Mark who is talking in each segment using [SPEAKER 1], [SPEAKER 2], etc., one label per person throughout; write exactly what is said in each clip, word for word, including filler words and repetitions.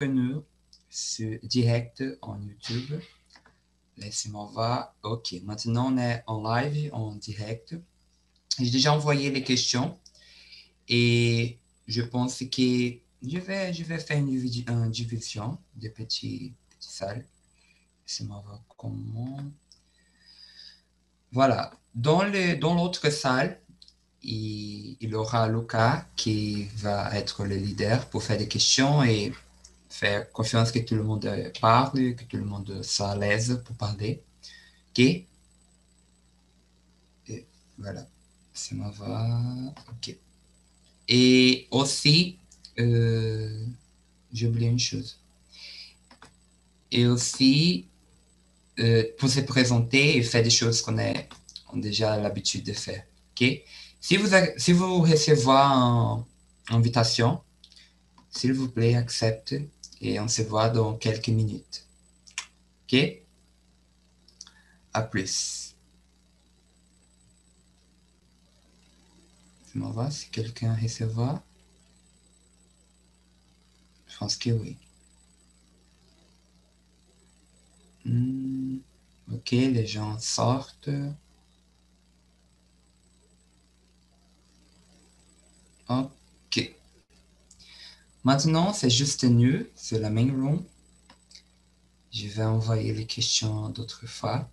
[SPEAKER 1] nous sur, direct en YouTube. Laissez-moi voir. OK, maintenant on est en live, en direct. J'ai déjà envoyé les questions et je pense que je vais, je vais faire une, une division de petites, petites salles. Laissez-moi voir comment. Voilà. Dans, le, dans l'autre salle, il, il aura Lucas qui va être le leader pour faire des questions et faire confiance que tout le monde parle, que tout le monde soit à l'aise pour parler. OK? Et voilà. Laissez-moi voir. OK. Et aussi, euh, j'ai oublié une chose. Et aussi, euh, pour se présenter et faire des choses qu'on a, on a déjà l'habitude de faire. OK? Si vous, si vous recevez une invitation, s'il vous plaît, accepte et on se voit dans quelques minutes. OK? À plus. Je m'en vais si quelqu'un recevra. Je pense que oui. Hmm. OK, les gens sortent. OK. Maintenant, c'est juste nous, c'est la main room. Je vais envoyer les questions d'autres fois.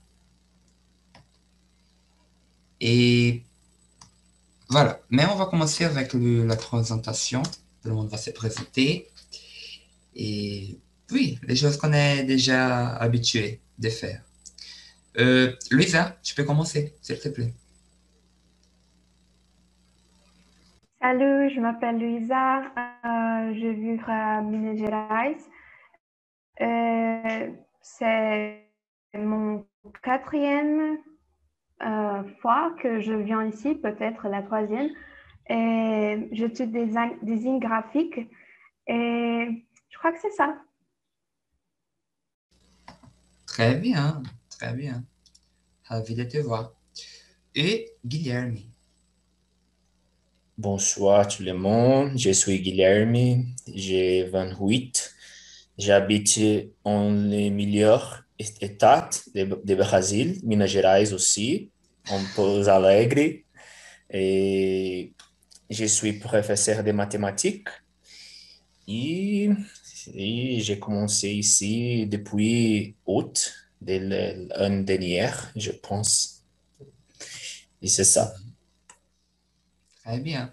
[SPEAKER 1] Et voilà. Mais on va commencer avec le, la présentation. Tout le monde va se présenter. Et oui, les choses qu'on est déjà habitué de faire. Euh, Luisa, tu peux commencer, s'il te plaît.
[SPEAKER 2] Salut, je m'appelle Luisa, euh, je vis à Minas Gerais. Euh, c'est mon quatrième euh, fois que je viens ici, peut-être la troisième. Et j'étudie des design graphique et je crois que c'est ça.
[SPEAKER 1] Très bien, très bien. Ravi de te voir. Et Guilherme.
[SPEAKER 3] Bonsoir tout le monde, je suis Guilherme, j'ai vingt-huit, j'habite en le meilleur état de, de Brasil, Minas Gerais aussi, en Pouso Alegre, et je suis professeur de mathématiques et, et j'ai commencé ici depuis août de l'année dernière, je pense, et c'est ça.
[SPEAKER 1] Très bien.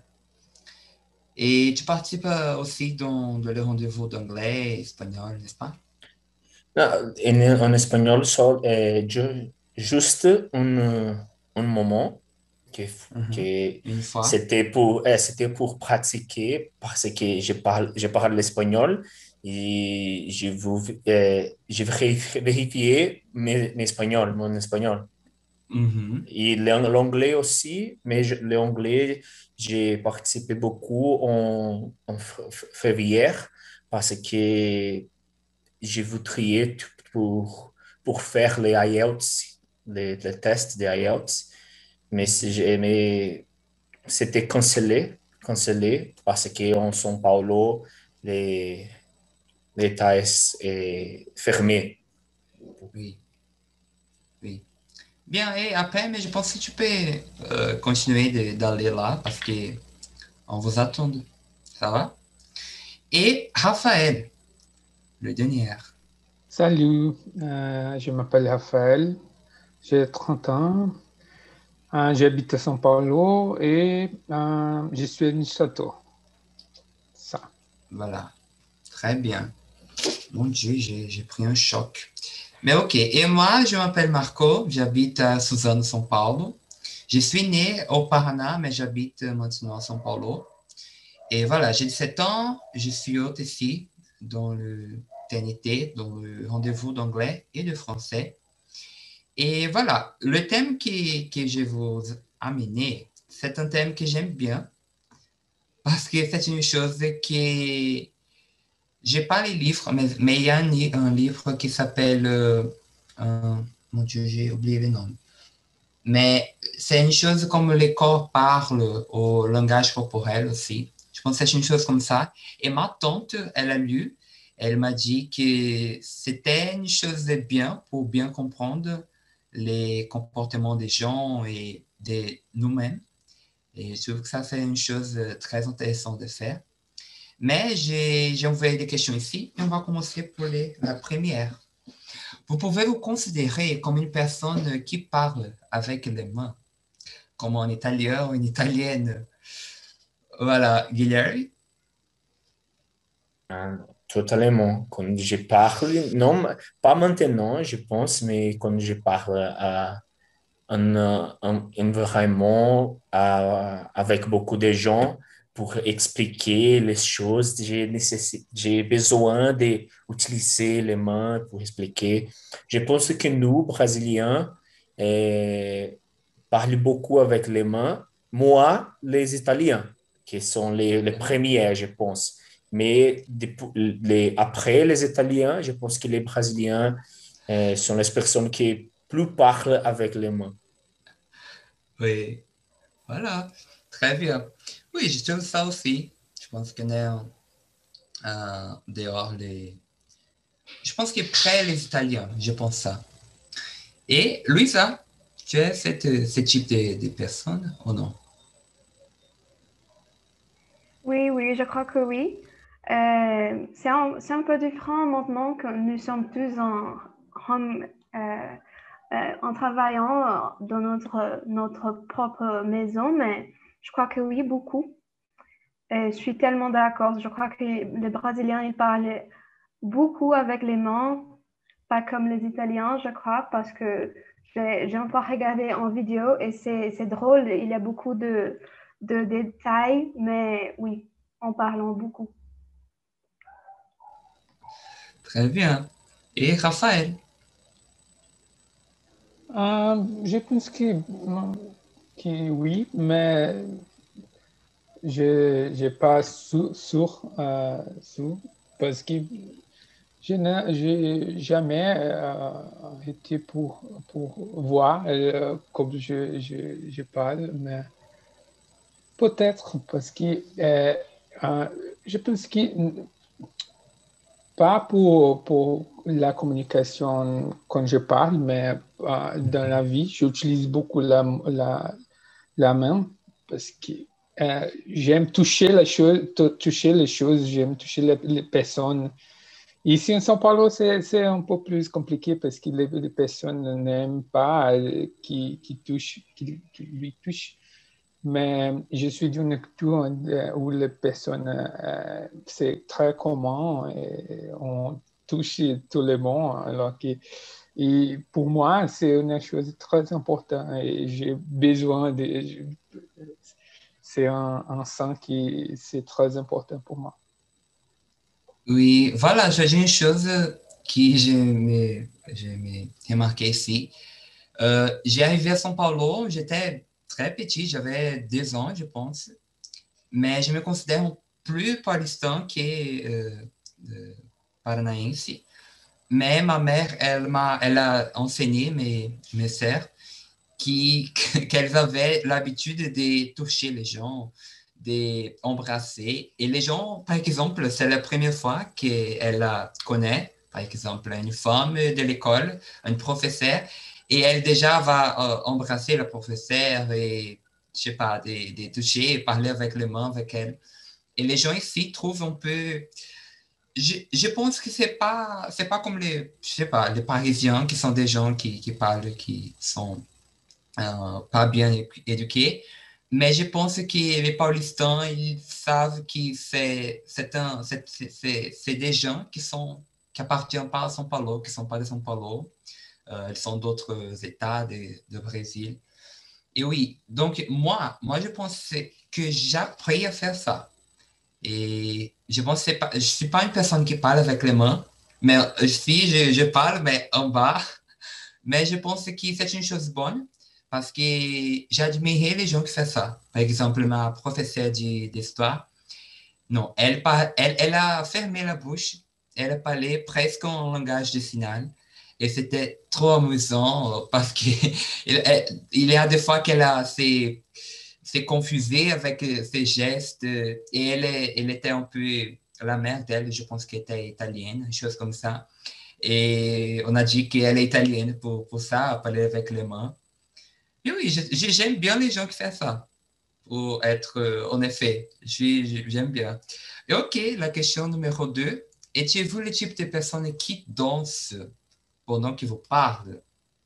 [SPEAKER 1] Et tu participes aussi dans, dans les rendez-vous d'anglais et espagnol, n'est-ce pas?
[SPEAKER 3] Non, en, en espagnol, sol, eh, ju- juste un, un moment que,
[SPEAKER 1] Mhm.
[SPEAKER 3] que
[SPEAKER 1] Une fois.
[SPEAKER 3] c'était pour, eh, c'était pour pratiquer parce que je parle, je parle l'espagnol et je veux, eh, je veux vérifier mes, mes espagnol, mon espagnol.
[SPEAKER 1] Mhm.
[SPEAKER 3] Et l'ang- l'anglais aussi, mais je- l'anglais, j'ai participé beaucoup en, en f- f- février parce que je voudrais t- pour, pour faire les I E L T S, les, les tests des I E L T S, mais, si j'ai- mais c'était cancellé, cancellé parce qu'en São Paulo, les, les tests est fermé.
[SPEAKER 1] Oui, oui. Bien, et après, mais je pense que tu peux euh, continuer de- d'aller là parce que on vous attend. Ça va? Et Raphaël, le dernier.
[SPEAKER 4] Salut, euh, je m'appelle Raphaël, j'ai trente ans, euh, j'habite à São Paulo et euh, je suis administrateur. Ça.
[SPEAKER 1] Voilà. Très bien. Mon Dieu, j'ai j'ai pris un choc. Mais ok. Et moi, je m'appelle Marco, j'habite à Suzano, São Paulo. Je suis né au Paraná, mais j'habite maintenant à São Paulo. Et voilà, j'ai dix-sept ans, je suis hôte ici dans le T N T, dans le rendez-vous d'anglais et de français. Et voilà, le thème que, que je vous amener, c'est un thème que j'aime bien parce que c'est une chose que j'ai pas les livres, mais, mais il y a un, un livre qui s'appelle, euh, euh, mon Dieu, j'ai oublié le nom. Mais c'est une chose comme les corps parlent au langage corporel aussi. Je pense que c'est une chose comme ça. Et ma tante, elle a lu Elle m'a dit que c'était une chose de bien pour bien comprendre les comportements des gens et de nous-mêmes. Et je trouve que ça, c'est une chose très intéressante de faire. Mais j'ai j'ai envoyé des questions ici et on va commencer pour les, la première. Vous pouvez vous considérer comme une personne qui parle avec les mains, comme un italien ou une italienne. Voilà, Guilherme.
[SPEAKER 3] Ah, totalement. Quand je parle, non, pas maintenant, je pense, mais quand je parle à un, un environnement à- avec beaucoup de gens pour expliquer les choses, j'ai nécessi- j'ai besoin d'utiliser les mains pour expliquer. Je pense que nous, Brésiliens, eh, parlons beaucoup avec les mains. Moi, les Italiens, qui sont les, les premiers, je pense. Mais des- les, après les Italiens, je pense que les Brésiliens euh, sont les personnes qui plus parlent avec les mains.
[SPEAKER 1] Oui, voilà, très bien. Oui, je trouve ça aussi. Je pense qu'on est euh, dehors les... Je pense qu'après les Italiens, je pense ça. Et Luisa, tu es cette, ce type de, de personne ou non?
[SPEAKER 2] Oui, oui, je crois que oui. Euh, c'est un, c'est un peu différent maintenant que nous sommes tous en home, euh, euh, en travaillant dans notre, notre propre maison, mais je crois que oui, beaucoup. Et je suis tellement d'accord. Je crois que les Brésiliens, ils parlent beaucoup avec les mains, pas comme les Italiens, je crois, parce que j'ai j'ai encore regardé en vidéo et c'est c'est drôle. Il y a beaucoup de, de détails, mais oui, en parlant beaucoup.
[SPEAKER 1] Très bien. Et Raphaël?
[SPEAKER 4] Euh, je pense que, que oui, mais je n'ai pas su- sûr, euh, sûr, parce que je n'ai j'ai jamais euh, été pour, pour voir euh, comme je, je, je parle, mais peut-être parce que euh, euh, je pense que pas pour, pour la communication quand je parle, mais euh, dans la vie, j'utilise beaucoup la, la, la main parce que euh, j'aime toucher les choses, toucher les choses, j'aime toucher les, les personnes. Ici en São Paulo, c'est, c'est un peu plus compliqué parce que les, les personnes n'aiment pas euh, qui, qui, touchent, qui, qui lui touchent. Mais je suis d'une culture euh, où les personnes, euh, c'est très commun et on touche tout le monde. Alors que, et pour moi, c'est une chose très importante et j'ai besoin de. je- C'est un, un sens qui c'est très important pour moi.
[SPEAKER 1] Oui, voilà, j'ai une chose que j'ai me- j'ai me remarqué ici. Euh, j'ai arrivé à São Paulo, j'étais très petit, j'avais deux ans, je pense, mais je me considère plus paulistano que euh, euh, paranaense. Mais ma mère, elle m'a, elle a enseigné mes, mes sœurs qui, qu'elles avaient l'habitude de toucher les gens, d'embrasser. Et les gens, par exemple, c'est la première fois qu'elle la connaît, par exemple, une femme de l'école, un professeur, et elle déjà va euh, embrasser le professeur et, je sais pas, de, de toucher et parler avec les mains avec elle. Et les gens ici trouvent un peu... Je, je pense que c'est pas, c'est pas comme les, je sais pas, les Parisiens qui sont des gens qui, qui parlent, qui sont euh, pas bien éduqués. Mais je pense que les Paulistans, ils savent que c'est, c'est, un, c'est, c'est, c'est des gens qui sont qui appartiennent pas à São Paulo, qui sont pas de São Paulo. Euh, ils sont d'autres États de, de Brésil. Et oui, donc moi, moi je pense que j'ai appris à faire ça. Et je pense que pas, je suis pas une personne qui parle avec les mains, mais si je, je parle, mais en bas, mais je pense que c'est une chose bonne parce que j'admirais les gens qui font ça. Par exemple, ma professeure de- d'histoire, non, elle, par- elle, elle a fermé la bouche, elle parlait presque en langage de signal. Et c'était trop amusant euh, parce qu'il il il y a des fois qu'elle a s'est s'est confusée avec euh, ses gestes euh, et elle, est- elle était un peu la mère d'elle, je pense qu'elle était italienne, une chose comme ça. Et on a dit qu'elle est italienne pour, pour ça, parler avec les mains. Et oui, j'aime bien les gens qui font ça, pour être, euh, en effet, j'aime bien. Et ok, la question numéro deux. Étiez-vous le type de personne qui danse pendant qu'ils vous parlent?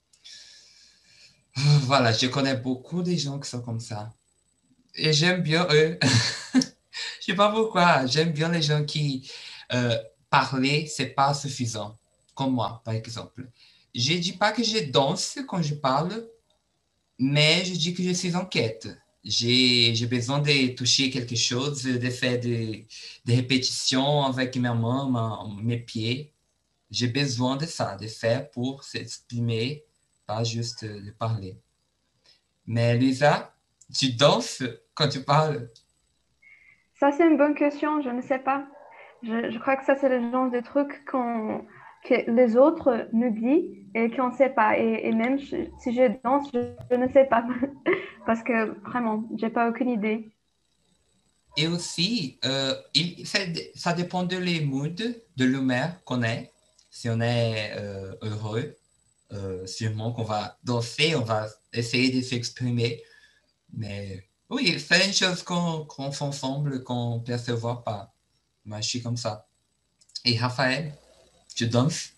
[SPEAKER 1] Voilà, je connais beaucoup de gens qui sont comme ça. Et j'aime bien eux. Je sais pas pourquoi. J'aime bien les gens qui euh, parler, c'est pas suffisant. Comme moi, par exemple. Je dis pas que je danse quand je parle, mais je dis que je suis en quête. J'ai, j'ai besoin de toucher quelque chose, de faire des, des répétitions avec mes mains, ma, mes pieds. J'ai besoin de ça, de faire pour s'exprimer, pas juste de parler. Mais Lisa, tu danses quand tu parles?
[SPEAKER 2] Ça, c'est une bonne question, je ne sais pas. Je, je crois que ça, c'est le genre de truc qu'on, que les autres nous disent et qu'on ne sait pas. Et, et même je- si je danse, je, je ne sais pas. Parce que vraiment, j'ai pas aucune idée.
[SPEAKER 1] Et aussi, euh, il, ça, ça dépend de les moods, de l'humeur qu'on est. Si on est euh, heureux, euh, sûrement qu'on va danser, on va essayer de s'exprimer. Mais oui, c'est une chose qu'on qu'on fait ensemble, qu'on ne perçoit pas. Moi, je suis comme ça. Et Raphaël, tu danses?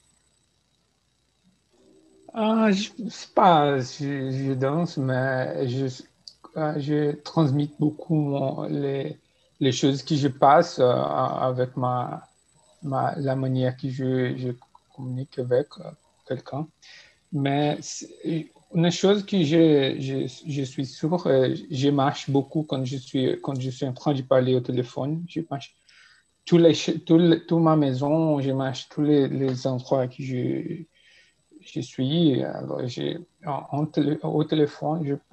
[SPEAKER 4] Ah, je sais pas, je, je danse, mais je, euh, je transmets beaucoup mon- les, les choses que je passe euh, avec ma, ma, la manière que je, je communique avec euh, quelqu'un. Mais c'est- une chose que je, je, je suis sûr, euh, je marche beaucoup quand je suis, quand je suis en train de parler au téléphone. Je marche tous les, ch- tout le- toute ma maison, je marche tous les, les endroits que je, je suis. Alors, j'ai, en, en télé- au téléphone, je,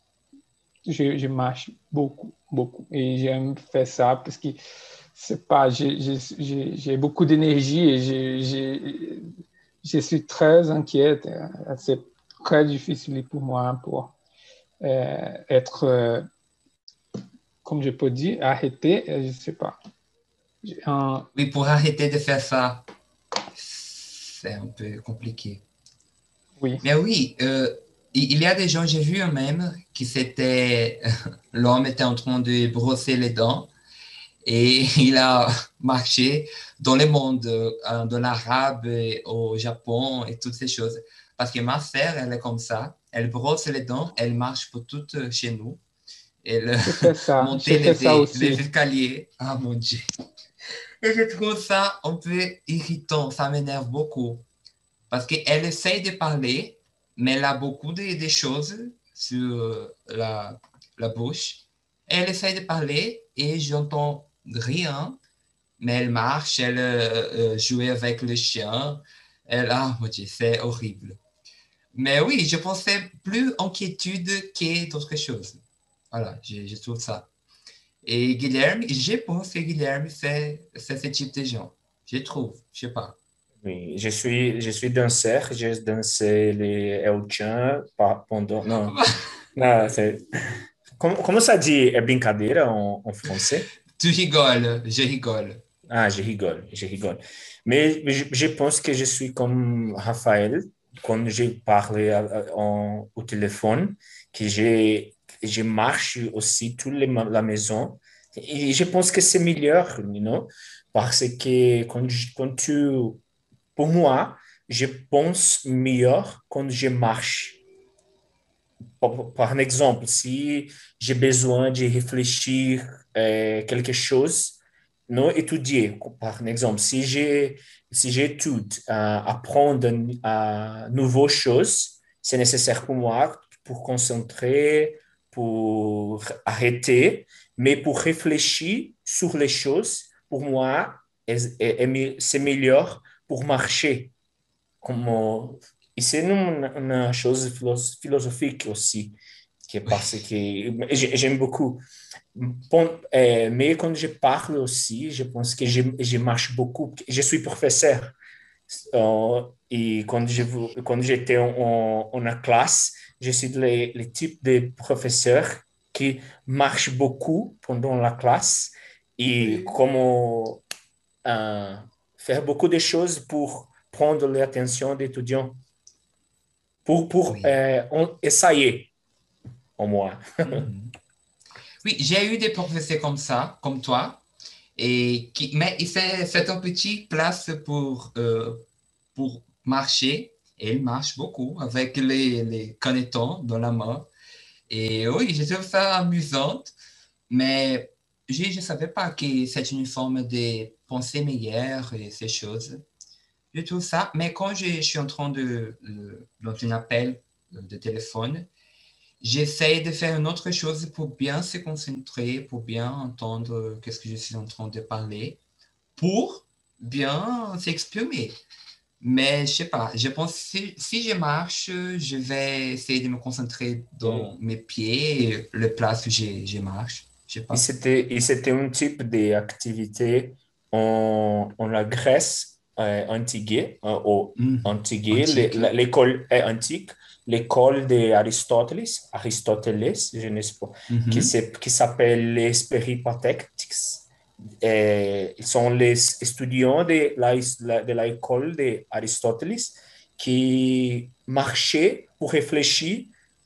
[SPEAKER 4] je, je marche beaucoup, beaucoup. Et j'aime faire ça parce que c'est pas, j'ai j'ai- j'ai- j'ai beaucoup d'énergie et j'ai j'ai- je suis très inquiète. C'est très difficile pour moi pour euh, être, euh, comme je peux dire, arrêté, euh, je sais pas. Un-
[SPEAKER 1] Oui, pour arrêter de faire ça, c'est un peu compliqué.
[SPEAKER 4] oui,
[SPEAKER 1] Mais oui, euh, il il y a des gens, j'ai vu un même, qui c'était, l'homme était en train de brosser les dents et il a marché dans le monde, euh, dans l'arabe, et au Japon et toutes ces choses. Parce que ma sœur, elle est comme ça, elle brosse les dents, elle marche pour tout euh, chez nous, elle
[SPEAKER 4] je fais ça, je
[SPEAKER 1] monter
[SPEAKER 4] fais
[SPEAKER 1] les,
[SPEAKER 4] ça
[SPEAKER 1] é-
[SPEAKER 4] aussi.
[SPEAKER 1] les escaliers. Ah mon Dieu. Et je trouve ça un peu irritant, ça m'énerve beaucoup. Parce qu'elle essaye de parler, mais elle a beaucoup de, de choses sur euh, la, la bouche. Elle essaye de parler et j'entends rien, mais elle marche, elle euh, euh, joue avec le chien. Elle, ah, mon Dieu, c'est horrible. Mais oui, je pensais plus inquiétude que d'autres choses. Voilà, je, je trouve ça. Et Guilherme, je pense que Guilherme, c'est c'est ce type de gens. Je trouve, je sais pas.
[SPEAKER 3] Oui, je suis, je suis danseur, j'ai dansé les El Chan pa- pendant... Non, non, c'est... Como, como ça dit é brincadeira en, en français?
[SPEAKER 1] Tu rigoles, je rigole.
[SPEAKER 3] Ah, je rigole, je rigole. Mais je, je pense que je suis comme Raphaël quand je parle à- à- en- au téléphone, que je, je marche aussi toute les ma- la maison. Et je pense que c'est meilleur, you know, parce que quand, je- quand tu, pour moi, je pense meilleur quand je marche. Par, par exemple, si j'ai besoin de réfléchir euh, quelque chose, non étudier. Par exemple, si j'ai si j'étudie à apprendre à nouvelles choses, c'est nécessaire pour moi pour concentrer, pour arrêter, mais pour réfléchir sur les choses, pour moi, est- est- est- c'est meilleur pour marcher. Como, e c'est une, une chose philo- philosophique aussi, qui est parce que j'ai- j'aime beaucoup. Bon, euh, mais quand je parle aussi, je pense que je, je marche beaucoup. Je suis professeur. Euh, et quand je, quand j'étais en, en, en classe, je suis le, le type de professeur qui marche beaucoup pendant la classe. Et
[SPEAKER 1] Oui.
[SPEAKER 3] comme euh, faire beaucoup de choses pour prendre l'attention des étudiants, pour, pour
[SPEAKER 1] Oui.
[SPEAKER 3] euh, on, essayer au moins.
[SPEAKER 1] Mhm. Oui, j'ai eu des professeurs comme ça, comme toi, et qui, mais c'est c'est un petit place pour, euh, pour marcher, et il marche beaucoup avec les, les canetons dans la main. Et oui, je trouve ça amusant, mais je ne savais pas que c'est une forme de pensée meilleure et ces choses. Je trouve ça, mais quand je, je suis en train de, euh, dans un appel de téléphone, j'essaie de faire une autre chose pour bien se concentrer, pour bien entendre qu'est-ce que je suis en train de parler, pour bien s'exprimer. Mais je sais pas, je pense que si, si je marche, je vais essayer de me concentrer
[SPEAKER 3] Et,
[SPEAKER 1] dans mes pieds et le place où je, je marche. Je sais
[SPEAKER 3] et
[SPEAKER 1] pas.
[SPEAKER 3] c'était, et c'était un type d'activité en, en la Grèce euh, antique, euh, au
[SPEAKER 1] Mhm.
[SPEAKER 3] antique, l'é-
[SPEAKER 1] Antique.
[SPEAKER 3] l'école est antique, l'école d'Aristoteles, Aristoteles, je ne sais pas, qui,
[SPEAKER 1] Mhm.
[SPEAKER 3] s'est- qui s'appelle les Peripatetics. Et ils sont les étudiants de la, de l'école d'Aristoteles qui marchaient pour réfléchir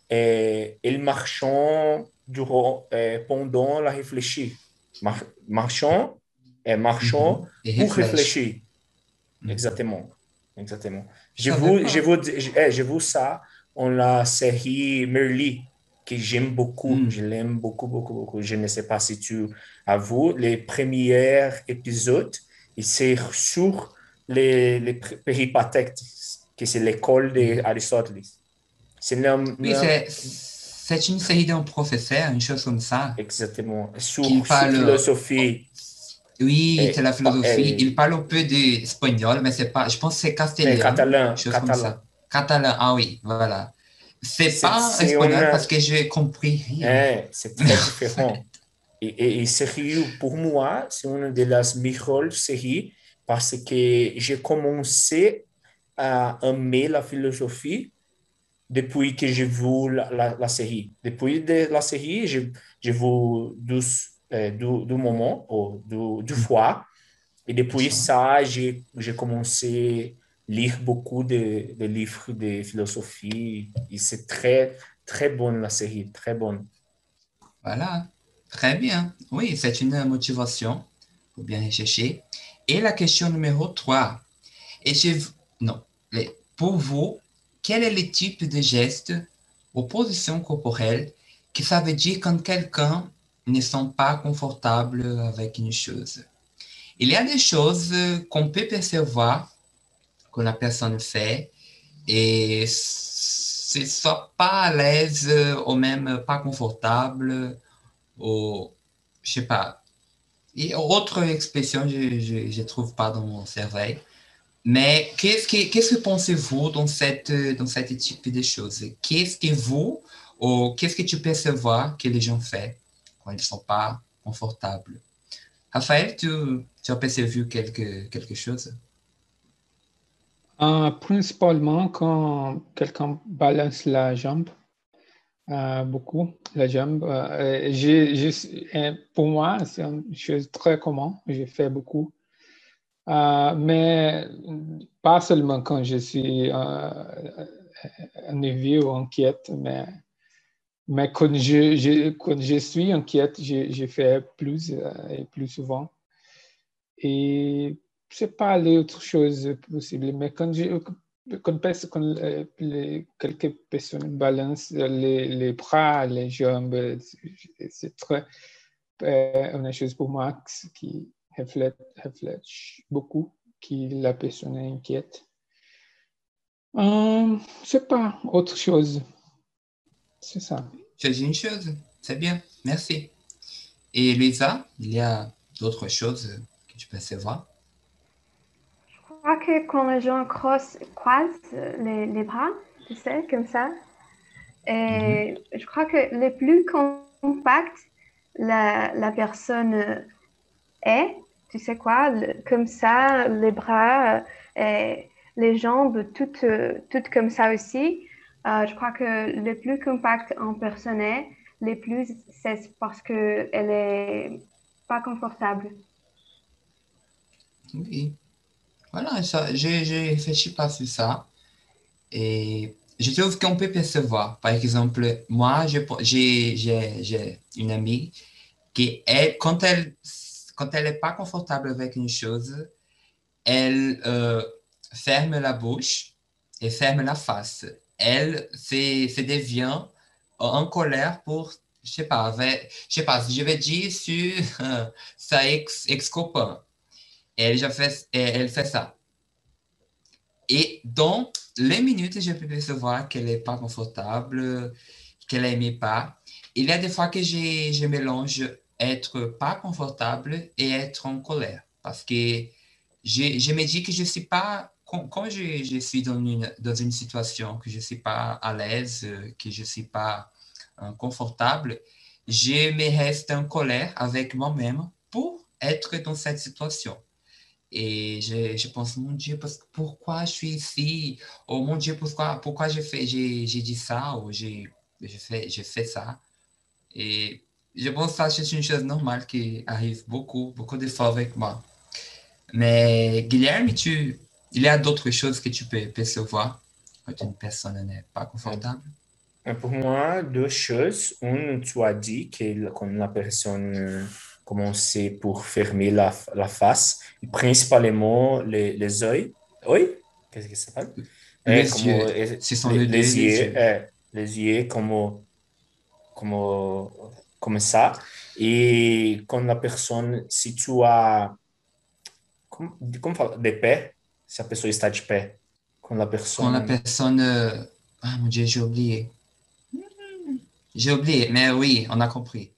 [SPEAKER 3] et ils marchent durant, euh, pendant la réfléchir. Mar marchant et marchant
[SPEAKER 1] Mhm. Et
[SPEAKER 3] pour
[SPEAKER 1] réfléchis.
[SPEAKER 3] réfléchir.
[SPEAKER 1] Mhm.
[SPEAKER 3] Exactement. Exactement.
[SPEAKER 1] Je
[SPEAKER 3] Je
[SPEAKER 1] savais
[SPEAKER 3] vous, je
[SPEAKER 1] pas.
[SPEAKER 3] vous, je, eh, je vous ça en la série Merli, que j'aime beaucoup. Je
[SPEAKER 1] Mhm.
[SPEAKER 3] l'aime beaucoup, beaucoup, beaucoup. Je ne sais pas si tu as vu les premiers épisodes. Et c'est sur les, les péripatèques, que c'est l'école
[SPEAKER 1] Oui.
[SPEAKER 3] d'Aristoteles. C'est la-
[SPEAKER 1] Oui,
[SPEAKER 3] la-
[SPEAKER 1] c'est, c'est une série d'un professeur, une chose comme ça,
[SPEAKER 3] exactement.
[SPEAKER 1] qui
[SPEAKER 3] Sur, sur
[SPEAKER 1] parle.
[SPEAKER 3] philosophie
[SPEAKER 1] Oui, c'est
[SPEAKER 3] et,
[SPEAKER 1] la philosophie. Il
[SPEAKER 3] et,
[SPEAKER 1] parle un peu d'espagnol, mais c'est pas. Je pense que c'est
[SPEAKER 3] et
[SPEAKER 1] castillan,
[SPEAKER 3] catalan,
[SPEAKER 1] chose comme
[SPEAKER 3] catalan.
[SPEAKER 1] ça. Catalan, ah oui, voilà. C'est
[SPEAKER 3] C'est,
[SPEAKER 1] pas
[SPEAKER 3] c'est
[SPEAKER 1] espagnol
[SPEAKER 3] une,
[SPEAKER 1] parce que j'ai compris rien.
[SPEAKER 3] hein, c'est
[SPEAKER 1] Mais
[SPEAKER 3] très
[SPEAKER 1] en fait,
[SPEAKER 3] différent. Et, et, et sérieux, pour moi, c'est une de las meilleures séries parce que j'ai commencé à aimer la philosophie depuis que j'ai vu la, la, la série. Depuis de, la série, j'ai j'ai vu deux, euh, deux, deux moments, ou deux, deux fois. Et
[SPEAKER 1] tout
[SPEAKER 3] depuis
[SPEAKER 1] ça.
[SPEAKER 3] ça, j'ai j'ai commencé à lire beaucoup de, de livres de philosophie. Et c'est très, très bonne la série, très bonne.
[SPEAKER 1] Voilà. Très bien. Oui, c'est une motivation pour bien rechercher. Et la question numéro trois. Et je, non, les- pour vous, quel est le type de geste ou position corporelle que ça veut dire quand quelqu'un ne sent pas confortable avec une chose? Il y a des choses qu'on peut percevoir que la personne fait et c'est soit pas à l'aise ou même pas confortable ou je sais pas. Et autre expression, je ne trouve pas dans mon cerveau. Mais qu'est-ce que, qu'est-ce que pensez-vous dans cette, dans cette type de choses? Qu'est-ce que vous, ou qu'est-ce que tu perçois que les gens font quand ils ne sont pas confortables? Raphaël, tu, tu as perçu quelque, quelque chose?
[SPEAKER 4] Euh, principalement quand quelqu'un balance la jambe, euh, beaucoup, la jambe. Euh, j'ai, j'ai- euh, pour moi, c'est une chose très commune. J'ai fait beaucoup. Euh, mais pas seulement quand je suis euh, énervé ou inquiète, mais, mais quand je, je- quand je suis inquiète, je, je fais plus euh, et plus souvent. Et c'est pas les autres choses possibles, mais quand je, quand, pers- quand euh, les- quelques personnes balancent les, les bras, les jambes, c'est c'est très euh, une chose pour moi qui reflète, reflète beaucoup qui la personne est inquiète. Euh, c'est pas autre chose, c'est ça.
[SPEAKER 1] Tu as dit une chose, c'est bien, merci. Et Lisa, il y a d'autres choses que tu perçois?
[SPEAKER 2] Je crois que quand les gens croisent, croisent les, les bras, tu sais, comme ça,
[SPEAKER 1] Mhm.
[SPEAKER 2] et je crois que le plus compact la, la personne est, tu sais quoi, le- comme ça, les bras euh, et les jambes, toutes, euh, toutes comme ça aussi. Euh, je crois que le plus compact en personne est, le plus c'est parce qu'elle est pas confortable.
[SPEAKER 1] Oui. Voilà, ça, j'ai j'ai réfléchi pas sur ça. Et je trouve qu'on peut percevoir. Par exemple, moi, je- j'ai j'ai- j'ai une amie qui, elle, quand elle quand elle n'est pas confortable avec une chose, elle euh, ferme la bouche et ferme la face. Elle se, se devient en colère pour, je sais pas, avec- je sais pas, je vais dire sur euh, sa ex, ex-copain. Elle, já fait, elle fait ça. Et dans les minutes, je peux percevoir qu'elle n'est pas confortable, qu'elle n'aimait pas. Il y a des fois que je, je mélange être pas confortable et être en colère. Parce que je, je me dis que je suis pas, quand, quand je, je suis dans une, dans une situation que je ne suis pas à l'aise, que je ne suis pas euh, confortable, je me reste en colère avec moi-même pour être dans cette situation. Et je, je pense, mon Dieu, parce, pourquoi je suis ici? Oh mon Dieu, pourquoi, pourquoi j'ai fait, j'ai, j'ai dit ça ou j'ai, j'ai fait, j'ai fait ça? Et je pense que ça, c'est une chose normale qui arrive beaucoup, beaucoup de fois avec moi. Mais Guilherme, tu, il y a d'autres choses que tu peux percevoir quand une personne n'est pas
[SPEAKER 3] Euh,
[SPEAKER 1] confortable.
[SPEAKER 3] Pour moi, deux choses. Une, tu as dit que quand la personne euh, commençait pour fermer la, la face, principalement les, les yeux. Oui, qu'est-ce que ça s'appelle? Et
[SPEAKER 1] Les
[SPEAKER 3] comme
[SPEAKER 1] yeux,
[SPEAKER 3] euh,
[SPEAKER 1] ce sont
[SPEAKER 3] les,
[SPEAKER 1] les deux,
[SPEAKER 3] les
[SPEAKER 1] les
[SPEAKER 3] yeux,
[SPEAKER 1] yeux.
[SPEAKER 3] euh, les yeux comme, comme, comme ça. Et quand la personne, si tu as, como, como fala? De pé, se a pessoa está de pé. Quand la
[SPEAKER 1] Quand la
[SPEAKER 3] personne
[SPEAKER 1] personne, euh, ah mon Dieu, j'ai oublié. J'ai oublié, mais oui, on a compris.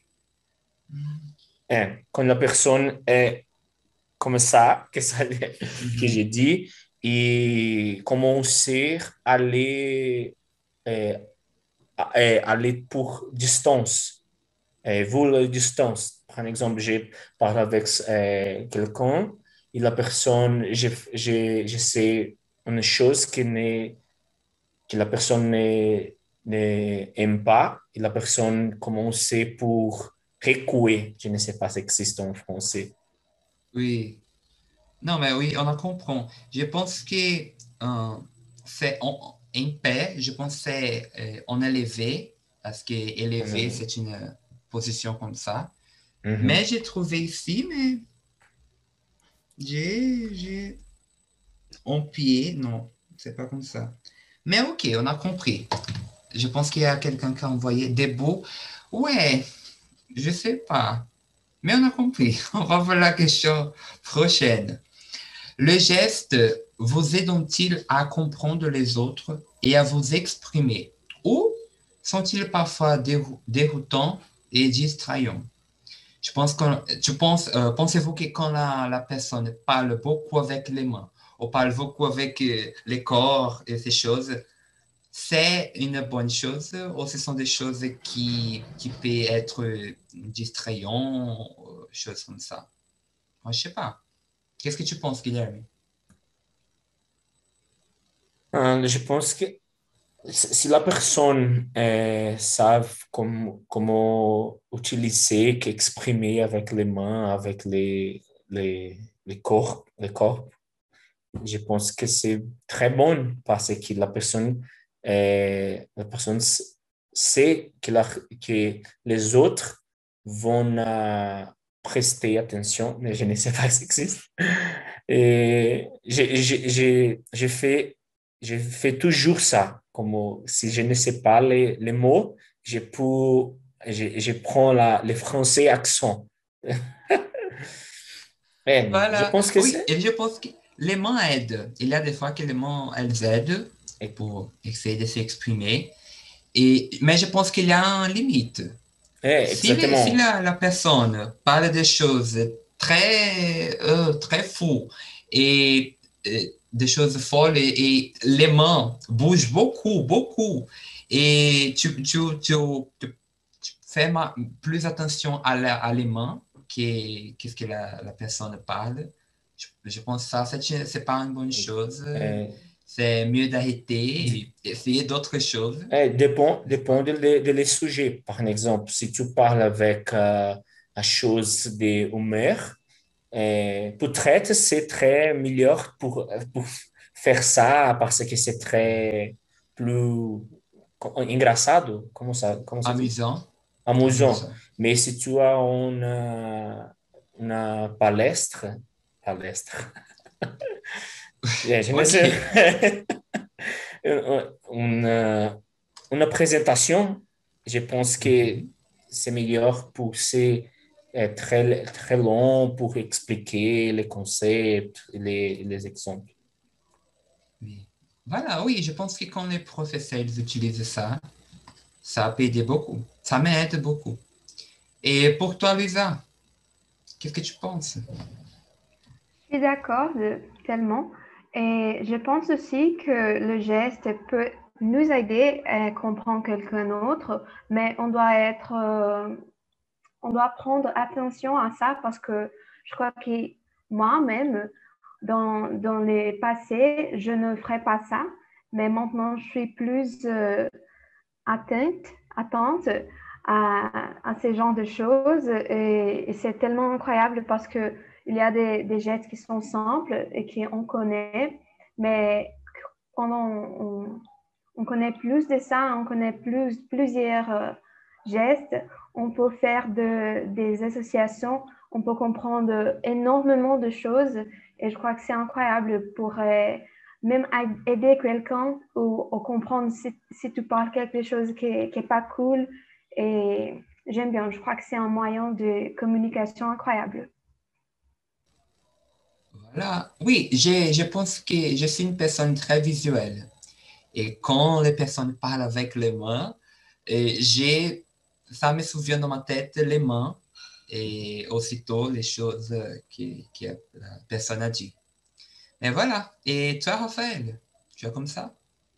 [SPEAKER 3] est, quand la personne est comme ça, que, ça, que
[SPEAKER 1] Mhm.
[SPEAKER 3] j'ai dit, et commencer à aller, euh, à- euh, aller pour distance, euh, voler distance. Par exemple, j'ai parlé avec euh, quelqu'un et la personne, je, je, je sais une chose que, n'est- que la personne ne- n'aime pas et la personne commence pour recuer. Je ne sais pas si ça existe en français.
[SPEAKER 1] Oui. Non, mais oui, on a compris. Je pense que euh, c'est en, en paix, je pense que c'est euh, en élevé, parce que élevé,
[SPEAKER 3] Mhm.
[SPEAKER 1] c'est une euh, position comme ça. Mais
[SPEAKER 3] Mhm.
[SPEAKER 1] j'ai trouvé ici, mais j'ai, j'ai en pied, non, c'est pas comme ça. Mais ok, on a compris. Je pense qu'il y a quelqu'un qui a envoyé des beaux. Ouais, je sais pas. Mais on a compris. On va voir la question prochaine. Le geste vous aident-ils à comprendre les autres et à vous exprimer? Ou sont-ils parfois dérou- déroutants et distrayants? Je pense que, tu penses, euh, pensez-vous que quand la, la personne parle beaucoup avec les mains, ou parle beaucoup avec euh, les corps et ces choses, c'est une bonne chose ou ce sont des choses qui, qui peuvent être euh, distrayantes, euh, choses comme ça? Moi, je sais pas. Qu'est-ce que tu penses, Guilherme?
[SPEAKER 3] Euh, je pense que si la personne euh, savent comme- comment utiliser, qu'exprimer avec les mains, avec les, les, les corps, les corps, je pense que c'est très bon parce que la personne, euh, la personne s- sait que, la- que les autres vont euh, prester attention, mais je ne sais pas si ça existe. Et j'ai j'ai- j'ai- j'ai fait, je fais toujours ça, comme si je ne sais pas les, les mots, je, peux, je, je prends la, le français accent. Eh, je
[SPEAKER 1] Voilà.
[SPEAKER 3] pense que
[SPEAKER 1] Oui,
[SPEAKER 3] c'est...
[SPEAKER 1] et je pense que les mains aident. Il y a des fois que les mains, elles aident
[SPEAKER 3] eh,
[SPEAKER 1] pour essayer de s'exprimer. Et, mais je pense qu'il y a une limite.
[SPEAKER 3] eh,
[SPEAKER 1] Si, les- si
[SPEAKER 3] exactement.
[SPEAKER 1] la, la personne parle des choses très, euh, très fous et euh, des choses folles et, et les mains bougent beaucoup, beaucoup, et tu, tu, tu, tu- tu fais ma- plus attention à, la, à les mains que qu'est-ce que la, la personne parle, je, je pense que ça, c'est c'est pas une bonne chose.
[SPEAKER 3] Eh,
[SPEAKER 1] C'est mieux d'arrêter et essayer d'autres choses.
[SPEAKER 3] Eh, dépend,
[SPEAKER 1] Je sais
[SPEAKER 3] dépend
[SPEAKER 1] pas.
[SPEAKER 3] de, les de les sujets. Par exemple, si tu parles avec euh, la chose de Homer, Euh, peut-être c'est très meilleur pour, pour faire ça parce que c'est très plus engraçado, comment ça, comment ça dit?
[SPEAKER 1] Amusant.
[SPEAKER 3] Amusant.
[SPEAKER 1] Amusant.
[SPEAKER 3] Mais si tu as une, une palestre, palestre, je je ne sais,
[SPEAKER 1] OK.
[SPEAKER 3] une, une présentation, je pense que
[SPEAKER 1] Mhm.
[SPEAKER 3] c'est meilleur pour c'est euh, très, très long pour expliquer les concepts, les, les exemples.
[SPEAKER 1] Oui. Voilà, oui, je pense que quand les professeurs ils utilisent ça, ça peut aider beaucoup. Ça m'aide beaucoup. Et pour toi, Lisa, qu'est-ce que tu penses?
[SPEAKER 2] Je suis d'accord de- tellement. Et je pense aussi que le geste peut nous aider à comprendre quelqu'un d'autre, mais on doit être, euh, on doit prendre attention à ça parce que je crois que moi-même, dans, dans les passés, je ne ferais pas ça, mais maintenant, je suis plus euh, atteinte, attente à, à ces genres de choses et, et c'est tellement incroyable parce que il y a des, des gestes qui sont simples et qu'on connaît, mais quand on, on, on connaît plus de ça, on connaît plus, plusieurs euh, gestes, on peut faire de, des associations, on peut comprendre énormément de choses et je crois que c'est incroyable pour euh, même aider quelqu'un ou, ou comprendre si, si, tu parles quelque chose qui n'est pas cool et j'aime bien, je crois que c'est un moyen de communication incroyable.
[SPEAKER 1] Voilà. Oui, j'ai- je pense que je suis une personne très visuelle. Et quand les personnes parlent avec les mains, et j'ai, ça me souvient dans ma tête les mains et aussitôt les choses que, que la personne a dit. Et voilà. Et toi, Raphaël, tu es comme ça?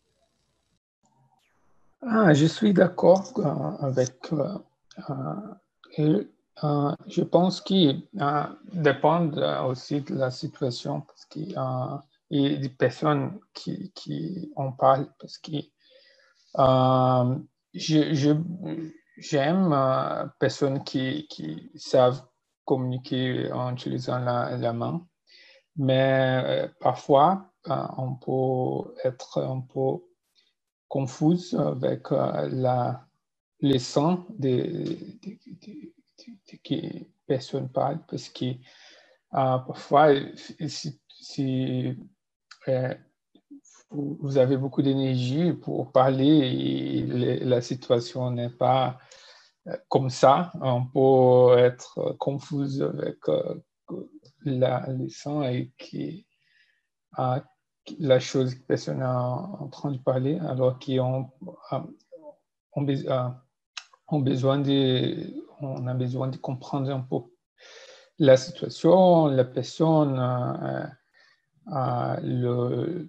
[SPEAKER 4] Ah, je suis d'accord euh, avec. Euh, euh, et, euh, je pense qu'il euh, dépend euh, aussi de la situation parce qu'il euh, y a des personnes qui, qui en parlent parce que euh, je, je- j'aime euh, personnes qui, qui savent communiquer en utilisant la, la main, mais euh, parfois euh, on peut être un peu confuse avec euh, la, les sons des de, de, de, de personnes parlent parce que euh, parfois, si, si euh, vous, vous avez beaucoup d'énergie pour parler et le, la situation n'est pas euh, comme ça, on peut être confuse avec euh, la, les sons et qui, euh, la chose que personne est en train de parler alors qu'on ont, ont besoin de, on a besoin de comprendre un peu la situation, la personne, euh, euh, le,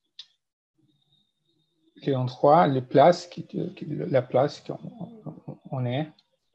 [SPEAKER 4] les endroits, les places, qui, qui, la place qu'on on est.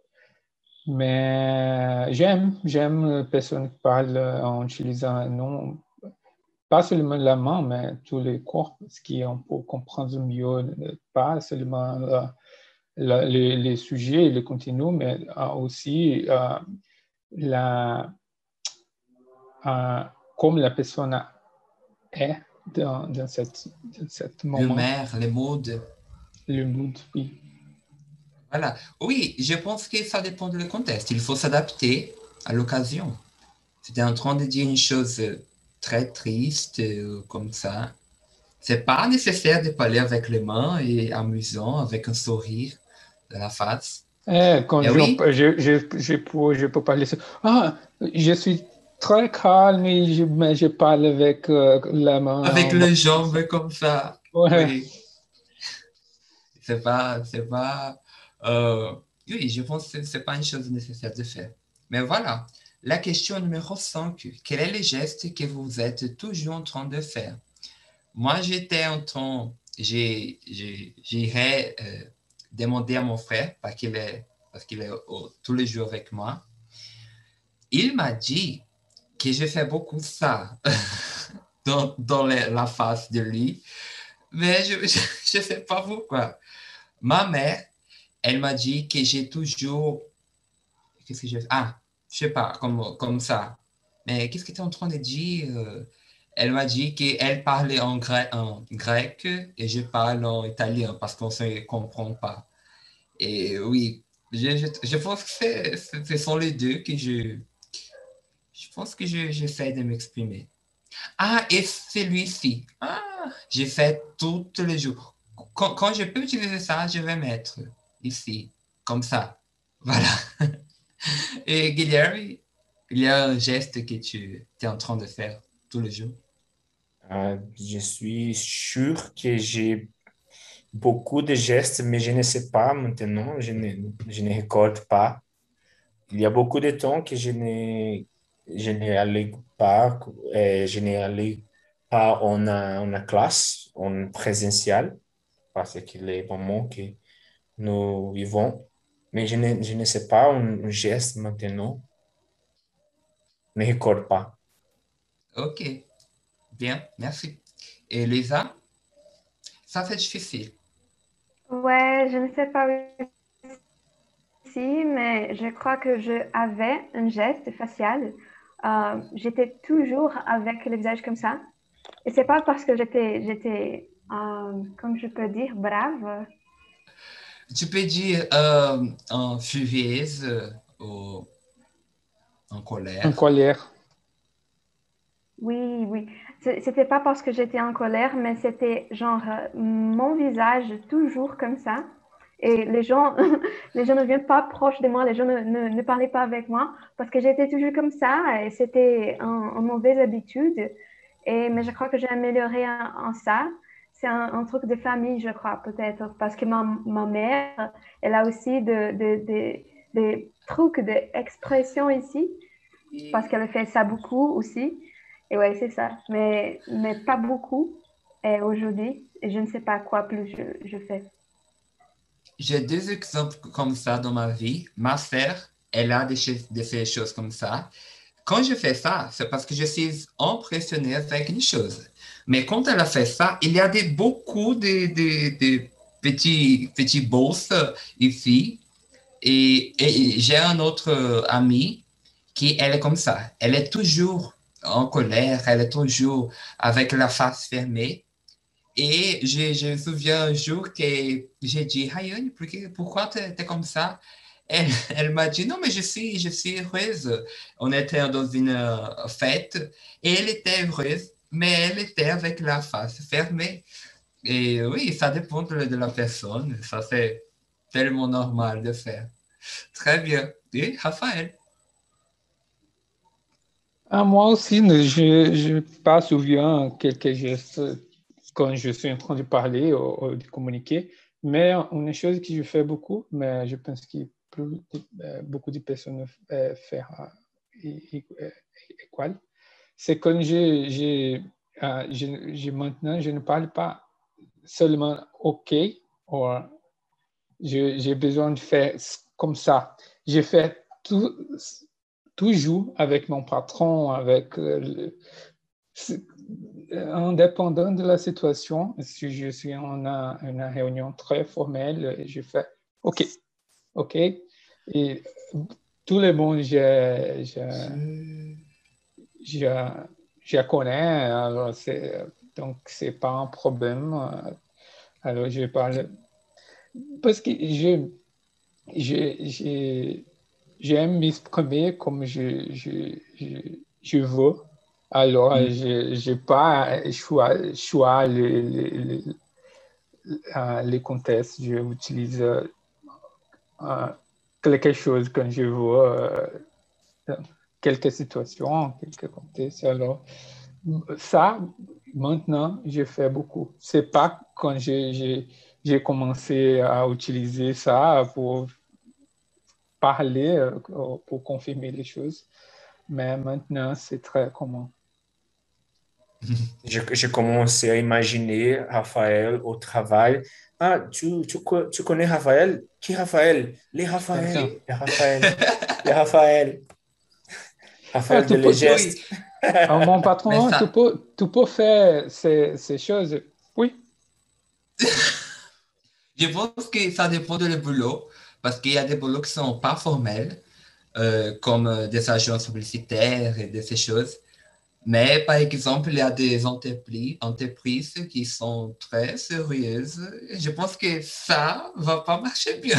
[SPEAKER 4] Mais j'aime, j'aime les personnes qui parlent en utilisant non, pas seulement la main, mais tous les corps, parce qu'on peut comprendre mieux, pas seulement la, la, les, les, sujets, les contenus, mais aussi euh, la, euh, comme la personne est dans, dans, cette, dans cet moment.
[SPEAKER 1] L'humeur, les modes.
[SPEAKER 4] Le mood, oui.
[SPEAKER 1] Voilà. Oui, je pense que ça dépend du contexte. Il faut s'adapter à l'occasion. C'était en train de dire une chose très triste euh, comme ça. C'est pas nécessaire de parler avec les mains et amusant, avec un sourire de la face.
[SPEAKER 4] Eh, quand
[SPEAKER 1] Et
[SPEAKER 4] je,
[SPEAKER 1] oui,
[SPEAKER 4] je, je, je, peux, je peux parler, ah, je suis très calme et je, mais je parle avec euh, la
[SPEAKER 1] avec
[SPEAKER 4] main.
[SPEAKER 1] les jambes comme ça.
[SPEAKER 4] Ouais.
[SPEAKER 1] Oui, c'est pas, c'est pas, euh, oui, je pense que c'est pas une chose nécessaire de faire. Mais voilà, la question numéro cinq. Quel est le geste que vous êtes toujours en train de faire? Moi, j'étais en train, j'ai, j'ai, j'irais euh, demander à mon frère, parce qu'il est, parce qu'il est au- tous les jours avec moi. Il m'a dit que je fais beaucoup ça dans, dans les- la face de lui, mais je ne sais pas pourquoi. Ma mère, elle m'a dit que j'ai toujours... Qu'est-ce que j'ai fait? Ah, je sais pas, comme, comme ça. Mais qu'est-ce que tu es en train de dire? Euh, Elle m'a dit qu'elle parlait en grec, en grec et je parle en italien parce qu'on ne se comprend pas. Et oui, je, je, je pense que c'est- c'est- ce sont les deux que je... Je pense que je- j'essaie de m'exprimer. Ah, et celui-ci. Ah, j'ai fait tous les jours. Quand, quand je peux utiliser ça, je vais mettre ici, comme ça. Voilà. Et Guilherme, il y a un geste que tu es en train de faire tous les jours.
[SPEAKER 3] Euh, je suis sûr que j'ai beaucoup de gestes, mais je ne sais pas maintenant, je ne, je ne recorde pas. Il y a beaucoup de temps que je ne, je n'allais pas, euh, je n'allais pas en, euh, en classe, en présentiel, parce que les moments que nous vivons, mais je ne, je ne sais pas un, un geste maintenant, ne recorde pas.
[SPEAKER 1] Ok, bien, merci. Et Lisa, ça c'est difficile.
[SPEAKER 2] Ouais, je ne sais pas aussi, mais je crois que je avais un geste facial. Euh, j'étais toujours avec le visage comme ça. Et c'est pas parce que j'étais, j'étais, euh, comme je peux dire, brave.
[SPEAKER 1] Tu peux dire euh, en furieuse euh, ou en
[SPEAKER 4] En
[SPEAKER 1] colère.
[SPEAKER 4] colère.
[SPEAKER 2] Oui, oui. C'est- C'était pas parce que j'étais en colère, mais c'était genre euh, mon visage toujours comme ça. Et les gens, les gens ne viennent pas proche de moi, les gens ne, ne, ne parlaient pas avec moi parce que j'étais toujours comme ça et c'était un- une mauvaise habitude. Et, mais je crois que j'ai amélioré en, en ça. C'est un, un truc de famille, je crois, peut-être, parce que ma, ma mère, elle a aussi de, de, de- des trucs d'expression ici parce qu'elle fait ça beaucoup aussi. Et ouais, c'est ça. Mais, mais pas beaucoup et aujourd'hui. Et je ne sais pas quoi plus je, je fais.
[SPEAKER 1] J'ai deux exemples comme ça dans ma vie. Ma sœur, elle a de, che- de ces choses comme ça. Quand je fais ça, c'est parce que je suis impressionné avec une chose. Mais quand elle a fait ça, il y a des, beaucoup de, de, de petits, petits bosses ici. Et, et j'ai un autre euh, ami qui, elle est comme ça. Elle est toujours en colère, elle est toujours avec la face fermée. Et je, je me souviens un jour que j'ai dit, Rayane, por que- pourquoi tu es comme ça? Elle, elle m'a dit, non, mais je suis, je suis heureuse. On était dans une euh, fête et elle était heureuse, mais elle était avec la face fermée. Et oui, ça dépend de, de la personne. Ça, c'est tellement normal de faire. Très bien. Et Raphaël?
[SPEAKER 4] Ah, moi aussi, ne- je n'ai pas souviens quelques gestes quand je suis en train de parler ou, ou de communiquer, mais une chose que je fais beaucoup, mais je pense que plus, euh, beaucoup de personnes euh, font euh, équal, c'est quand je, je, euh, je, je- maintenant, je ne parle pas seulement OK, ou je- j'ai besoin de faire comme ça. Je fais tout, toujours avec mon patron, avec euh, le- c'est- indépendant de la situation. Si je suis en un- une réunion très formelle, je fais OK, OK. Et tout le monde, je, je, je, je connais, alors c'est, donc c'est pas un problème. Alors je parle parce que je, je, je- j'aime m'exprimer comme je, je, je, je veux. Alors, je n'ai pas choix, choix les, les, les, euh, les contextes. J'utilise euh, quelque chose quand je veux, euh, dans quelques situations, quelques contextes. Alors, ça, maintenant, je fais beaucoup. C'est pas quand j'ai j'ai- j'ai commencé à utiliser ça pour parler, euh, pour confirmer les choses. Mais maintenant, c'est très commun.
[SPEAKER 3] Je, je commençais à imaginer Raphaël au travail. Ah, tu, tu, co- tu connais Raphaël? Qui Raphaël? Les
[SPEAKER 4] Comme
[SPEAKER 3] Raphaël.
[SPEAKER 4] ça.
[SPEAKER 3] Les Raphaël. Les Raphaël.
[SPEAKER 4] Ah,
[SPEAKER 3] Raphaël de
[SPEAKER 4] tu peux, tu-
[SPEAKER 1] Oui,
[SPEAKER 3] Legeste.
[SPEAKER 4] ah, mon
[SPEAKER 1] mais
[SPEAKER 4] patron, tu
[SPEAKER 1] ça,
[SPEAKER 4] peux, tu peux faire ces, ces choses. Oui,
[SPEAKER 1] je pense que ça dépend de le boulot, parce qu'il y a des boulots qui sont pas formels. euh, comme euh, des agences publicitaires et de ces choses. Mais par exemple, il y a des entreprises, entreprises qui sont très sérieuses. Et je pense que ça va pas marcher bien.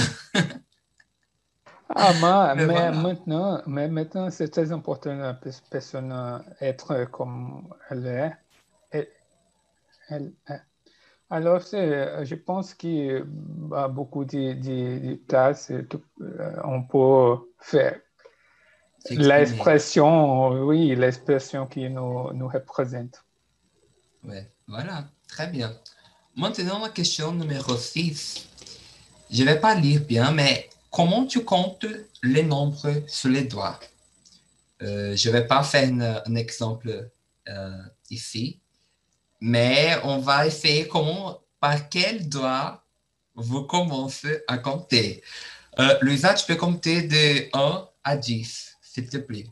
[SPEAKER 4] Ah, mais,
[SPEAKER 1] Mais
[SPEAKER 4] mais
[SPEAKER 1] voilà.
[SPEAKER 4] maintenant, mais maintenant c'est très important la pers- personne euh, être comme elle est. Elle, elle est. Alors, c'est, je pense qu'il y a beaucoup de, de, de tâches que euh, on peut faire.
[SPEAKER 1] S'exprimer.
[SPEAKER 4] L'expression, oui, l'expression qui nous, nous représente.
[SPEAKER 1] Ouais, voilà. Très bien. Maintenant, la question numéro six. Je ne vais pas lire bien, mais comment tu comptes les nombres sur les doigts? Euh, je ne vais pas faire une- un exemple euh, ici, mais on va essayer comment, par quel doigt vous commencez à compter. Euh, Louisa, tu peux compter de un à dix, s'il te plaît.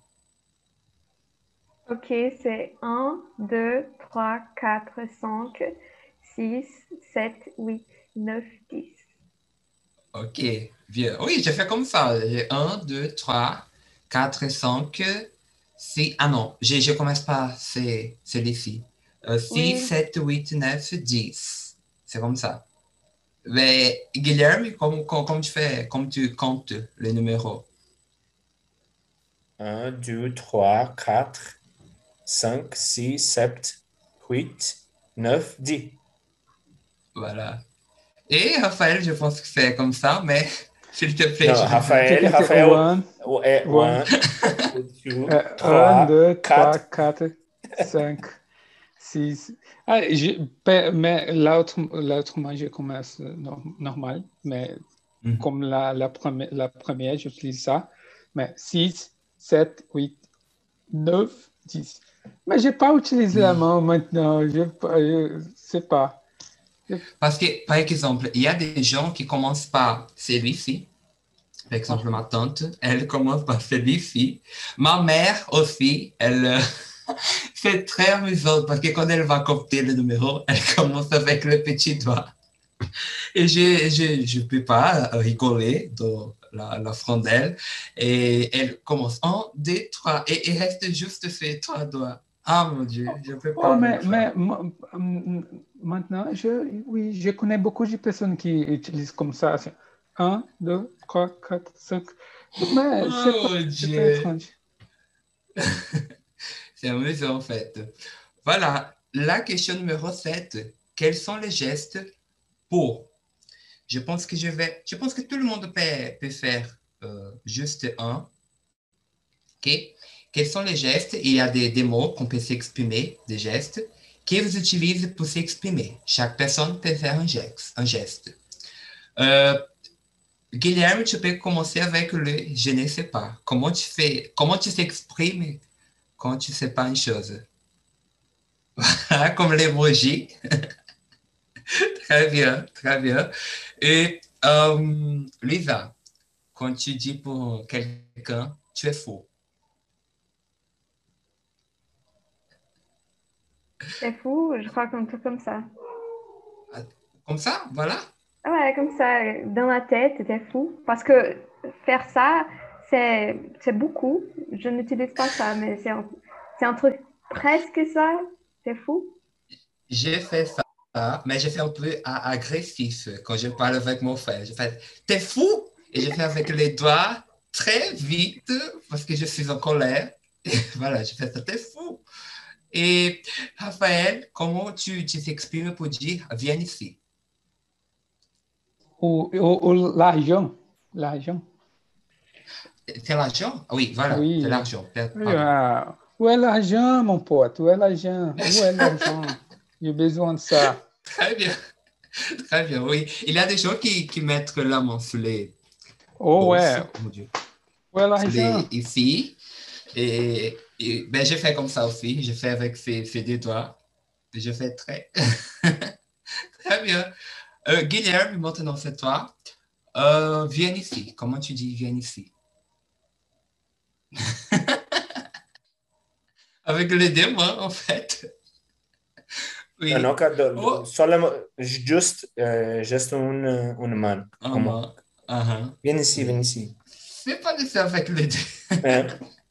[SPEAKER 2] Ok, c'est un, deux, trois, quatre, cinq, six, sept, huit, neuf, dix.
[SPEAKER 1] Ok, bien. Oui, je fais comme ça. J'ai un, deux, trois, quatre, cinq, six. Ah non, je, je commence par c'est celui-ci. Euh, six,
[SPEAKER 2] Oui,
[SPEAKER 1] sept, huit, neuf, dix. C'est comme ça. Mais Guilherme, comment, comment, comment tu fais, comment tu comptes les numéros?
[SPEAKER 3] un, deux, trois, quatre, cinq, six, sept, huit, neuf, dix.
[SPEAKER 1] Voilà. Et Raphaël, je pense que c'est comme ça, mais s'il te plaît,
[SPEAKER 3] Non,
[SPEAKER 1] je veux bien.
[SPEAKER 4] Je
[SPEAKER 3] Raphaël,
[SPEAKER 4] pense que
[SPEAKER 3] Raphaël
[SPEAKER 4] one,
[SPEAKER 3] est
[SPEAKER 4] one,
[SPEAKER 3] un, deux,
[SPEAKER 4] euh, un,
[SPEAKER 3] trois,
[SPEAKER 4] deux, trois,
[SPEAKER 3] quatre.
[SPEAKER 4] quatre, cinq, six. Ah, je- pe- mais l'autre, l'autrement, je commence nor- normal, mais
[SPEAKER 1] Mhm.
[SPEAKER 4] comme la, la, première, la première, j'utilise ça. Mais six, sept, huit, neuf, dix. Mais je n'ai pas utilisé la
[SPEAKER 1] Oui.
[SPEAKER 4] main maintenant. Je ne sais pas. Je-
[SPEAKER 1] Parce que, par exemple, il y a des gens qui commencent par celui-ci. Par exemple,
[SPEAKER 4] ah,
[SPEAKER 1] ma tante, elle commence par celui-ci. Ma mère aussi, elle, euh, c'est très amusant parce que quand elle va compter le numéro, elle commence avec le petit doigt. Et je je, je peux pas rigoler dans la, la frondelle. Et elle commence un, deux, trois. Et il reste juste ces trois doigts. Ah mon Dieu, je peux
[SPEAKER 4] oh,
[SPEAKER 1] pas
[SPEAKER 4] mais,
[SPEAKER 1] avec ça.
[SPEAKER 4] mais m- m- maintenant, je, oui, je connais beaucoup de personnes qui utilisent comme ça. C'est un, deux, trois, quatre, cinq. Mais c'est
[SPEAKER 1] Oh
[SPEAKER 4] pas,
[SPEAKER 1] mon
[SPEAKER 4] c'est pas
[SPEAKER 1] Dieu.
[SPEAKER 4] étrange.
[SPEAKER 1] C'est amusant en fait. Voilà, la question numéro sept. Quels sont les gestes pour? Je pense que je vais, je pense que tout le monde peut, peut faire euh, juste un. Ok? Quels sont les gestes? Il y a des, des mots qu'on peut s'exprimer, des gestes, que vous utilisez pour s'exprimer. Chaque personne peut faire un geste. Un geste. Euh, Guilherme, tu peux commencer avec le je ne sais pas. Comment tu fais, comment tu s'exprimes quand tu ne sais pas une chose? Comme l'emoji. Très bien, très bien. Et euh, Lisa, quand tu dis pour quelqu'un, tu es faux.
[SPEAKER 2] c'est fou, je crois qu'un truc comme ça.
[SPEAKER 1] Comme ça, voilà.
[SPEAKER 2] Ah ouais, comme ça, dans la tête, c'était fou. Parce que faire ça, c'est c'est beaucoup. Je n'utilise pas ça, mais c'est un, c'est un truc presque ça. C'est fou.
[SPEAKER 1] J'ai fait ça, mais j'ai fait un peu a- agressif quand je parle avec mon frère. Je fais, t'es fou? Et je fais avec les doigts très vite parce que je suis en colère. Et voilà, je fais ça, t'es fou. Et Raphaël, comment tu tu t'exprimes pour dire, viens ici?
[SPEAKER 4] Ou, ou, ou l'argent. L'argent.
[SPEAKER 1] C'est l'argent? Oui, voilà, c'est
[SPEAKER 4] Oui.
[SPEAKER 1] l'argent. Per-
[SPEAKER 4] Oui,
[SPEAKER 1] Pardon.
[SPEAKER 4] ah. Où est l'argent, mon pote? Où est l'argent? Où est l'argent? J'ai besoin de ça.
[SPEAKER 1] Très bien, très bien, oui. Il y a des gens qui, qui mettent la main sur les
[SPEAKER 4] Oh
[SPEAKER 1] bolses,
[SPEAKER 4] ouais.
[SPEAKER 1] oh mon Dieu,
[SPEAKER 4] Où est
[SPEAKER 1] sur
[SPEAKER 4] l'argent?
[SPEAKER 1] les ici. Et, et ben, j'ai fait comme ça aussi. J'ai fait avec ces, ces deux doigts. Et je fais très, très bien. Euh, Guilherme, maintenant c'est toi. Euh, viens ici. Comment tu dis viens ici? Avec les deux mains, en fait.
[SPEAKER 3] Non, non,
[SPEAKER 1] Oui.
[SPEAKER 3] que-
[SPEAKER 1] Oh,
[SPEAKER 3] solo, juste, euh, juste une, une main.
[SPEAKER 1] en
[SPEAKER 3] Como,
[SPEAKER 1] main. Uh-huh.
[SPEAKER 3] viens ici, viens
[SPEAKER 1] Oui.
[SPEAKER 3] ici.
[SPEAKER 1] c'est pas de faire avec les deux.
[SPEAKER 3] É.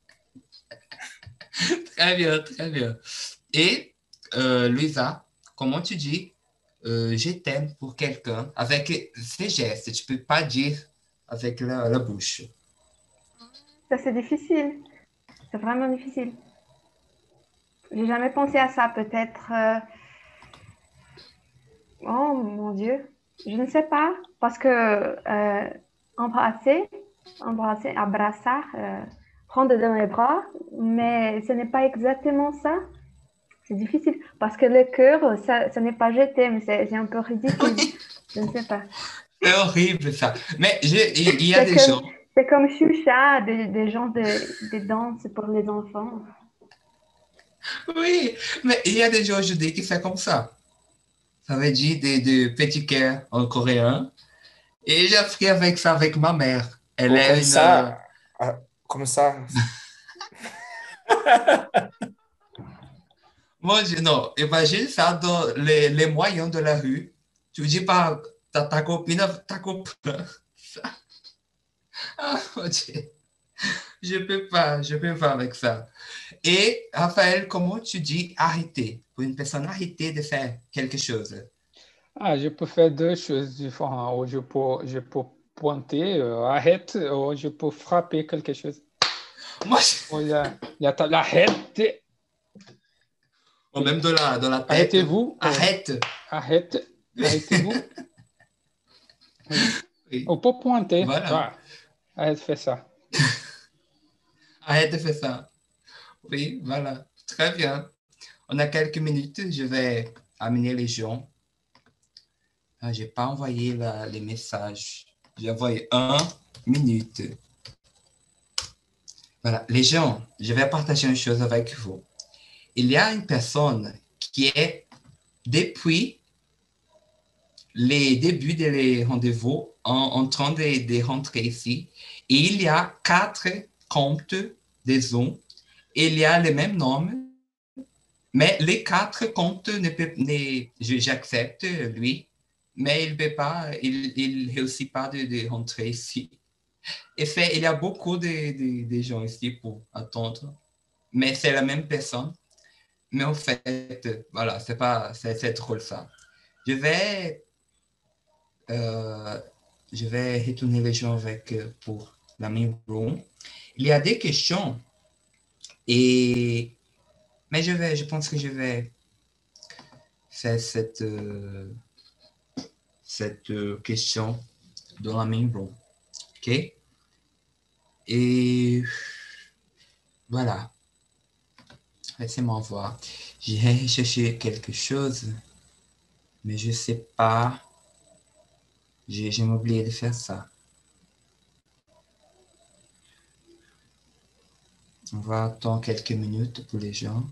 [SPEAKER 1] Très bien, très bien. Et euh, Luisa, comment tu dis euh, je t'aime pour quelqu'un avec ces gestes? Tu peux pas dire avec la, la bouche.
[SPEAKER 2] Ça, c'est difficile. C'est vraiment difficile. J'ai jamais pensé à ça. Peut-être. euh, Oh mon Dieu. Je ne sais pas. Parce que euh, embrasser, embrasser, abraçar, euh, prendre dans les bras, mais ce n'est pas exactement ça. C'est difficile. Parce que le cœur, ça, ça n'est pas jeté, mais c'est c'est un peu ridicule.
[SPEAKER 1] Oui,
[SPEAKER 2] Je ne sais pas.
[SPEAKER 1] c'est horrible ça. Mais je, il, il y a
[SPEAKER 2] C'est
[SPEAKER 1] des
[SPEAKER 2] comme,
[SPEAKER 1] gens.
[SPEAKER 2] c'est comme Choucha, des, des gens de, des danses pour les enfants.
[SPEAKER 1] Oui, mais il y a des gens aujourd'hui qui font comme ça. Ça veut dire des, des petits cœurs en coréen. Et j'ai appris avec ça avec ma mère. Elle
[SPEAKER 3] Ou
[SPEAKER 1] est une. euh,
[SPEAKER 3] começar, a, começar.
[SPEAKER 1] Moi, je- non, imagine ça dans les, les moyens de la rue. Tu dis pas ta, ta copine, ta copine. Ah, mon Dieu. Je peux pas, je peux pas avec ça. Et Raphaël, comment tu dis arrêter pour une personne arrêter de faire quelque chose?
[SPEAKER 4] Ah, je peux faire deux choses différentes. Ou je peux, je peux pointer, euh, arrête, ou je peux frapper quelque chose.
[SPEAKER 1] Moi, je-
[SPEAKER 4] Olha, là, t'as l'arrête.
[SPEAKER 1] ou même de la, dans la tête.
[SPEAKER 4] Arrêtez-vous. Oh,
[SPEAKER 1] Arrête.
[SPEAKER 4] arrête. Arrêtez-vous. Oui.
[SPEAKER 1] Oui,
[SPEAKER 4] Ou pour pointer.
[SPEAKER 1] voilà.
[SPEAKER 4] Voilà. Arrête de faire ça.
[SPEAKER 1] Arrête de faire ça. Oui, voilà. Très bien. On a quelques minutes. Je vais amener les gens. Ah, j'ai pas envoyé la- les messages. J'ai envoyé un minute. Voilà. Les gens, je vais partager une chose avec vous. Il y a une personne qui est, depuis les débuts des rendez-vous, en, en train de, de rentrer ici. Et il y a quatre comptes de Zoom. Et il y a le même nom. Mais les quatre comptes ne peuvent, ne, je- j'accepte lui, mais il ne peut pas, il, il réussit pas de, de rentrer ici. Et fait, il y a beaucoup de, de, de gens ici pour attendre, mais c'est la même personne. Mais en fait, voilà, c'est pas, c'est, c'est drôle ça. Je vais, euh, je vais retourner les gens avec euh, pour la main room. Il y a des questions et, mais je vais, je pense que je vais faire cette euh, cette euh, question dans la main room. OK? Et voilà. Laissez-moi voir. J'ai cherché quelque chose, mais je ne sais pas. J'ai, j'ai oublié de faire ça. On va attendre quelques minutes pour les gens.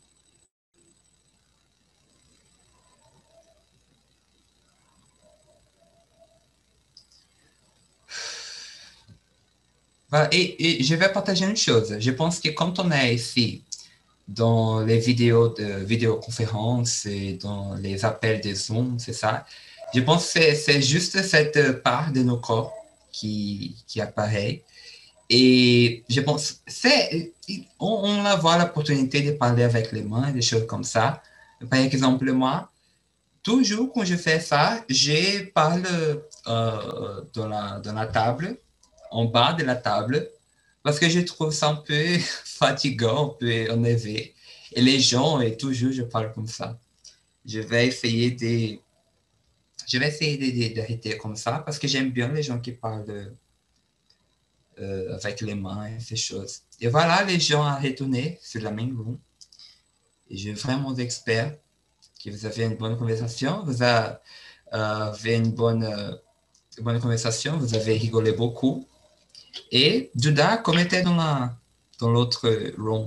[SPEAKER 1] Voilà. Et, et je vais partager une chose. Je pense que quand on est ici, dans les vidéos de vidéoconférences et dans les appels de Zoom, c'est ça. Je pense que c'est, c'est juste cette part de nos corps qui, qui apparaît. Et je pense, c'est, on, on a voit l'opportunité de parler avec les mains, des choses comme ça. Par exemple, moi, toujours quand je fais ça, je parle euh, dans, la, dans la table, en bas de la table, parce que je trouve ça un peu fatigant, un peu énervé. Et les gens, et toujours, je parle comme ça. Je vais essayer de, je vais essayer de- de- d'arrêter comme ça, parce que j'aime bien les gens qui parlent euh, avec les mains et ces choses. Et voilà, les gens à retourner sur la main room. Et je vraiment expert que vous avez une bonne conversation, vous avez, euh, avez une bonne, euh, bonne conversation, vous avez rigolé beaucoup. Et Judas, comme était dans la, dans l'autre room.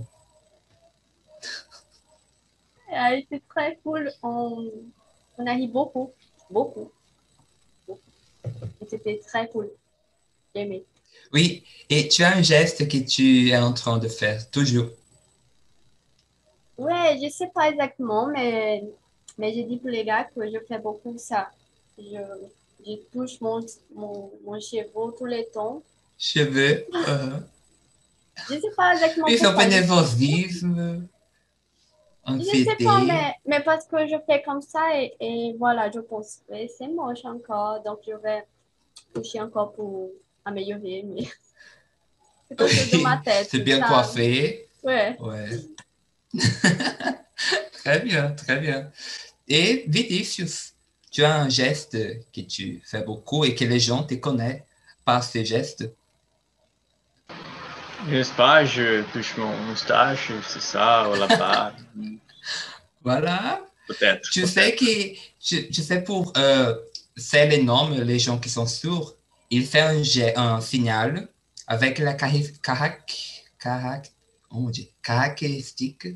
[SPEAKER 5] Ah, c'était très cool. On, on a ri beaucoup, beaucoup, beaucoup. Et c'était très cool. J'ai aimé.
[SPEAKER 1] Oui, et tu as un geste que tu es en train de faire, toujours.
[SPEAKER 5] Ouais, je sais pas exactement, mais, mais j'ai dit pour les gars que je fais beaucoup ça. Je, je touche mon, mon, mon cheveu tout le temps
[SPEAKER 1] cheveux. euh,
[SPEAKER 5] Je ne sais pas exactement
[SPEAKER 1] Oui, c'est un peu
[SPEAKER 5] pourquoi.
[SPEAKER 1] nervosisme,
[SPEAKER 5] Je ne sais pas,
[SPEAKER 1] anxiété.
[SPEAKER 5] mais, mais parce que je fais comme ça et, et voilà, je pense que c'est moche encore, donc je vais toucher encore pour améliorer, mais c'est quelque chose de ma
[SPEAKER 1] Oui,
[SPEAKER 5] tête,
[SPEAKER 1] c'est bien
[SPEAKER 5] ça.
[SPEAKER 1] coiffé.
[SPEAKER 5] Ouais.
[SPEAKER 1] Ouais. Très bien, très bien. Et Vinicius, tu as un geste que tu fais beaucoup et que les gens te connaissent par ces gestes.
[SPEAKER 6] Je sais pas, je touche mon moustache, c'est ça, ou la barbe,
[SPEAKER 1] Voilà.
[SPEAKER 6] peut-être,
[SPEAKER 1] Tu sais
[SPEAKER 6] peut-être.
[SPEAKER 1] que, tu, tu sais, pour euh, faire les noms, les gens qui sont sourds, ils font un, jet- un signal avec la cari- carac, carac, oh mon Dieu, caractéristique,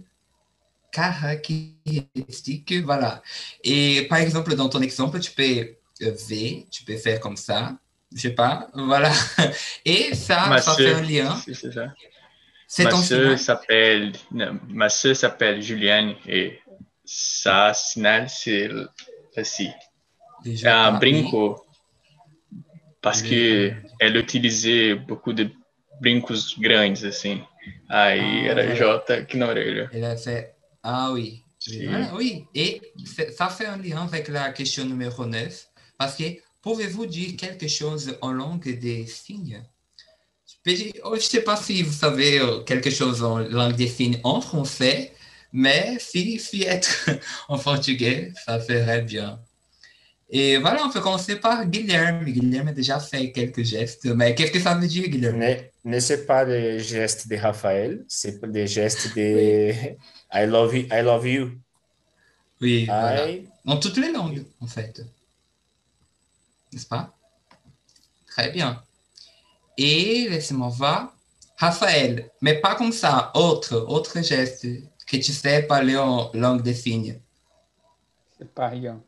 [SPEAKER 1] caractéristique, voilà. Et par exemple, dans ton exemple, tu peux euh, V, tu peux faire comme ça, je sais pas, voilà. Et ça,
[SPEAKER 6] Ma
[SPEAKER 1] ça fait
[SPEAKER 6] sœur,
[SPEAKER 1] un lien.
[SPEAKER 6] c'est c'est ça.
[SPEAKER 1] C'est
[SPEAKER 6] Ma
[SPEAKER 1] ton
[SPEAKER 6] sœur
[SPEAKER 1] signal?
[SPEAKER 6] s'appelle, non, ma sœur s'appelle Juliane et sa signal c'est aussi
[SPEAKER 1] Déjà
[SPEAKER 6] un
[SPEAKER 1] pas, oui.
[SPEAKER 6] brinco parce
[SPEAKER 1] Le, oh
[SPEAKER 6] que
[SPEAKER 1] mon Dieu.
[SPEAKER 6] ela utilisait beaucoup de brincos grandes assim. Aí
[SPEAKER 1] Ah,
[SPEAKER 6] era
[SPEAKER 1] voilà.
[SPEAKER 6] J aqui na orelha.
[SPEAKER 1] Elle a fait, ah oui, oui,
[SPEAKER 6] Sim.
[SPEAKER 1] voilà, oui. Et c'est- ça fait un lien avec la question numéro neuf, parce que pouvez-vous dire quelque chose en langue des signes? Je peux dire- oh, je ne sais pas si vous savez euh, quelque chose en langue des signes en français, mais si, si être en portugais, ça ferait bien. Et voilà, on peut commencer par Guilherme. Guilherme a déjà fait quelques gestes, mais qu'est-ce que ça veut dire, Guilherme?
[SPEAKER 3] Ne, ne c'est pas des gestes de Raphaël, c'est des gestes
[SPEAKER 5] Oui.
[SPEAKER 3] de I love you. I love you.
[SPEAKER 1] Oui, voilà.
[SPEAKER 3] I,
[SPEAKER 1] Dans toutes les langues, en fait, n'est-ce pas? Très bien. Et laissez-moi voir. Raphaël, mais pas comme ça. Autre, autre geste que tu sais parler en langue des signes.
[SPEAKER 4] C'est pas rien.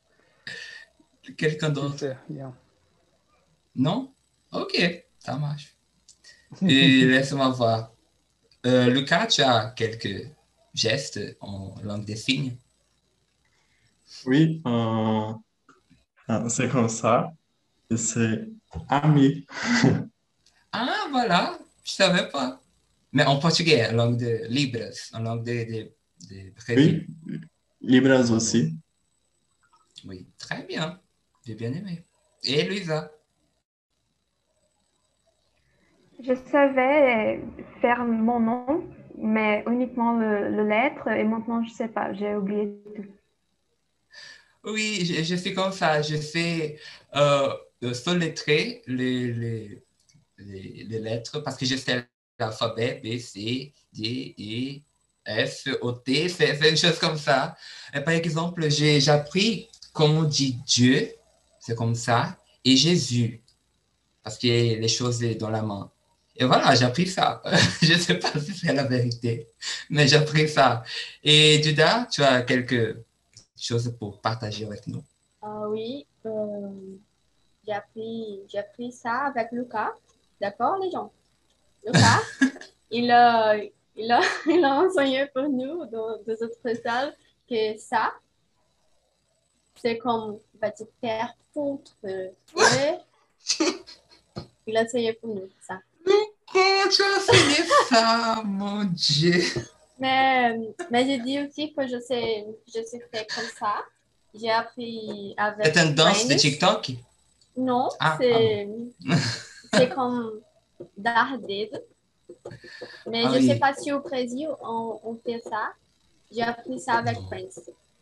[SPEAKER 1] Quelqu'un
[SPEAKER 4] Je
[SPEAKER 1] d'autre?
[SPEAKER 4] sais rien.
[SPEAKER 1] Non? Ok, ça marche. Et laisse-moi voir. Euh, Lucas, tu as quelques gestes en langue des signes?
[SPEAKER 7] Oui, euh, euh, c'est comme ça. Et c'est ami.
[SPEAKER 1] Ah, voilà, je savais pas. Mais en portugais, en langue de Libras, en langue de, de, de Brésil.
[SPEAKER 7] Oui, Libras aussi.
[SPEAKER 1] Oui, très bien. J'ai bien aimé. Et Luisa?
[SPEAKER 2] Je savais faire mon nom, mais uniquement le, le lettre, et maintenant je sais pas, j'ai oublié tout.
[SPEAKER 1] Oui, je, je suis comme ça. Je sais euh, euh, soletrer les, les, les, les lettres parce que je sais l'alphabet B, C, D, E, F, O, T, c'est c'est une chose comme ça. Et par exemple, j'ai j'ai appris comment on dit Dieu, c'est comme ça, et Jésus, parce qu'il y a les choses dans la main. Et voilà, j'ai appris ça. Je ne sais pas si c'est la vérité, mais j'ai appris ça. Et Duda, tu as quelque chose pour partager avec nous?
[SPEAKER 5] Ah oui, euh, j'ai appris, j'ai appris ça avec Lucas. D'accord, les gens? Lucas, il a, il a, il a enseigné pour nous dans dans autres salles que ça, c'est comme, va dire, faire foutre. Et il a enseigné pour nous ça.
[SPEAKER 1] Comment tu as enseigné ça, mon Dieu?
[SPEAKER 5] Mais, mais j'ai dit aussi que je sais, je sais faire comme ça. J'ai appris avec
[SPEAKER 1] C'est une danse de
[SPEAKER 5] Friends.
[SPEAKER 1] TikTok?
[SPEAKER 5] Non,
[SPEAKER 1] Ah, ah bon.
[SPEAKER 5] c'est, c'est comme dar dedo. Mais
[SPEAKER 1] Ah
[SPEAKER 5] je ne sais
[SPEAKER 1] oui.
[SPEAKER 5] pas si au Brésil on, on fait ça. J'ai appris ça avec
[SPEAKER 1] Non.
[SPEAKER 5] Friends.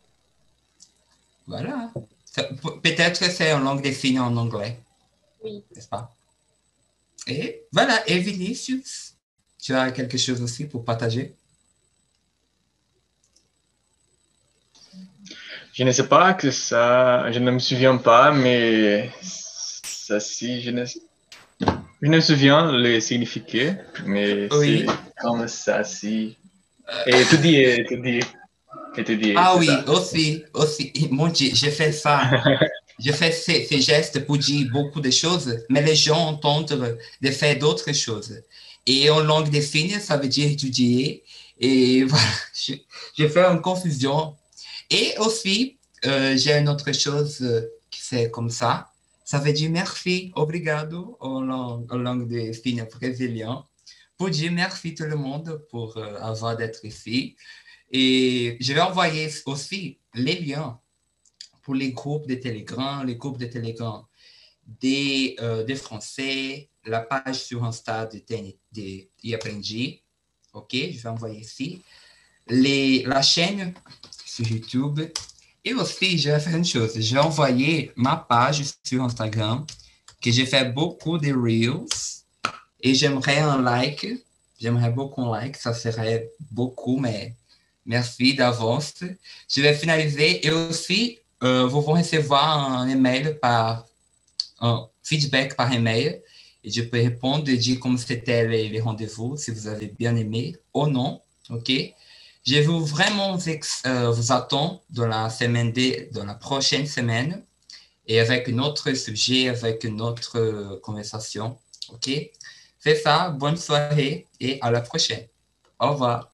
[SPEAKER 1] Voilà. Ça- pe- Peut-être que c'est en langue des signes en anglais,
[SPEAKER 5] Oui.
[SPEAKER 1] n'est-ce pas? Et voilà. Et Vinicius, tu as quelque chose aussi pour partager?
[SPEAKER 6] Je ne sais pas que ça, je ne me souviens pas, mais ça si, je ne, je ne me souviens le significat, mais c'est
[SPEAKER 1] Oui.
[SPEAKER 6] comme ça si. Et étudier, étudier, étudier,
[SPEAKER 1] Ah
[SPEAKER 6] c'est
[SPEAKER 1] oui,
[SPEAKER 6] ça.
[SPEAKER 1] aussi, aussi. Mon Dieu, j'ai fait ça. J'ai fait ces, ces gestes pour dire beaucoup de choses, mais les gens entendent de faire d'autres choses. Et en langue des signes, ça veut dire étudier. Et voilà, je- j'ai fait une confusion. Et aussi, euh, j'ai une autre chose euh, qui c'est comme ça. ça veut dire merci, obrigado en langue, en langue de signes brésilien, pour dire merci tout le monde pour euh, avoir d'être ici. Et je vais envoyer aussi les liens pour les groupes de Telegram, les groupes de Telegram des, euh, des Français, la page sur Insta de, de, de iAprendi. OK, je vais envoyer ici. Les, la chaîne sur YouTube. Et aussi, je vais faire une chose. Je vais envoyer ma page sur Instagram, que j'ai fait beaucoup de Reels. Et j'aimerais un like. J'aimerais beaucoup un like. Ça serait beaucoup, mais merci d'avance. Je vais finaliser. Et aussi, euh, vous vont recevoir un email par un feedback par email. Et je peux répondre et dire comment c'était les, les rendez-vous, si vous avez bien aimé ou non. OK? Je vous vraiment euh, vous attends dans la semaine de, dans la prochaine semaine et avec un autre sujet, avec une autre euh, conversation. OK? C'est ça. Bonne soirée et à la prochaine. Au revoir.